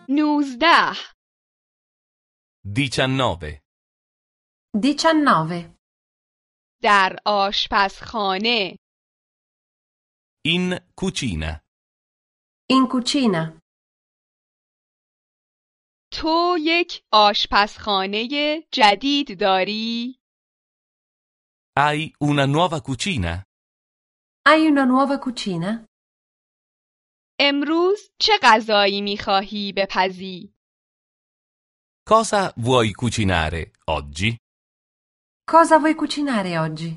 19 19. 19. در آشپزخانه In cucina. In cucina. تو یک آشپزخانه جدید داری؟ Hai una nuova cucina? Hai una nuova cucina? امروز چه غذایی می‌خواهی بپزی؟ Cosa vuoi cucinare oggi? Cosa vuoi cucinare oggi?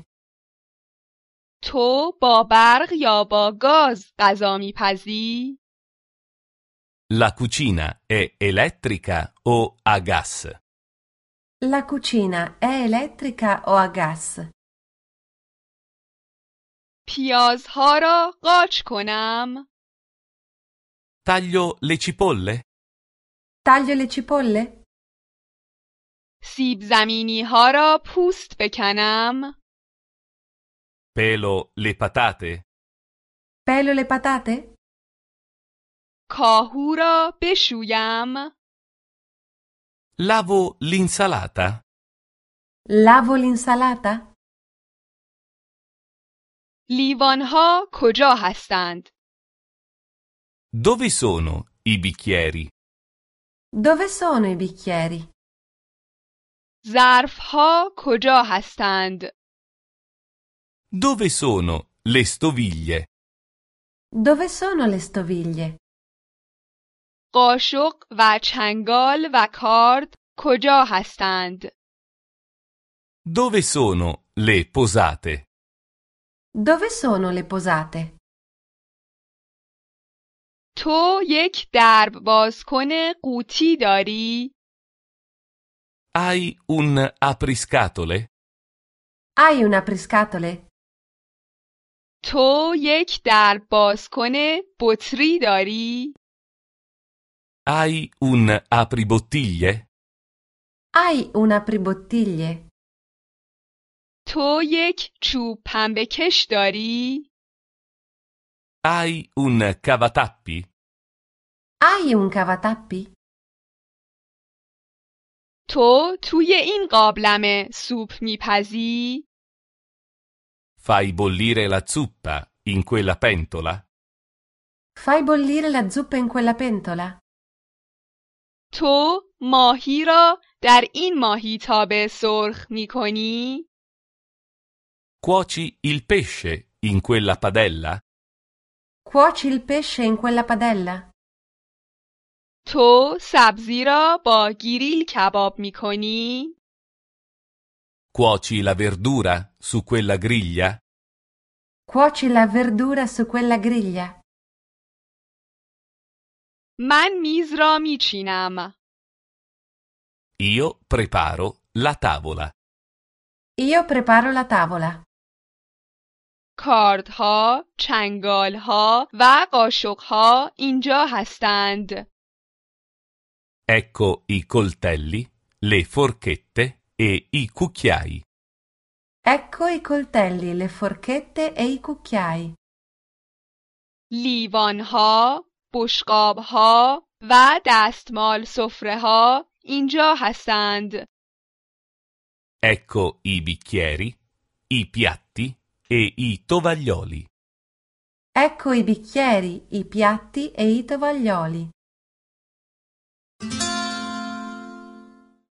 تو با برق یا با گاز غذا می‌پزی؟ La cucina è elettrica o a gas? La cucina è elettrica o a gas? پیازها را قاچ کنم؟ Taglio le cipolle? Taglio le cipolle? سیب زمینی‌ها را پوست بکنم؟ Pelo le patate? Pelo le patate? کاهو را بشویم؟ Lavo l'insalata? Lavo l'insalata? لیوان‌ها کجا هستند؟ Dove sono i bicchieri? Dove sono i bicchieri? ظرف‌ها کجا هستند؟ Dove sono le stoviglie? Dove sono le stoviglie? قاشق و چنگال و کارد کجا هستند؟ Dove sono le posate? Dove sono le posate? تو یک درب بازکن قوطی داری؟ Hai un apriscatole? Hai un apriscatole? تو یک درب بازکن بطری داری؟ Hai un apribottiglie? Hai un apribottiglie? تو یک چوب پنبه‌کش داری؟ Hai un cavatappi? Hai un cavatappi? تو توی این قابلمه سوپ میپزی؟ Fai bollire la zuppa in quella pentola? Fai bollire la zuppa in quella pentola? تو ماهی را در این ماهیتابه سرخ میکنی؟ Cuoci il pesce in quella padella? Cuoci il pesce in quella padella? تو سبزی را با گریل کباب میکنی؟ Cuoci la verdura su quella griglia? Cuoci la verdura su quella griglia? من میز را میچینم. Io preparo la tavola. Io preparo la tavola. کاردها، چنگالها و قاشقها اینجا هستند. Ecco i coltelli, le forchette e i cucchiai. Ecco i coltelli, le forchette e i cucchiai. لیوانها، بشقابها و دستمال سفره‌ها اینجا هستند. Ecco i bicchieri, i piatti e i tovaglioli. Ecco i bicchieri, i piatti e i tovaglioli.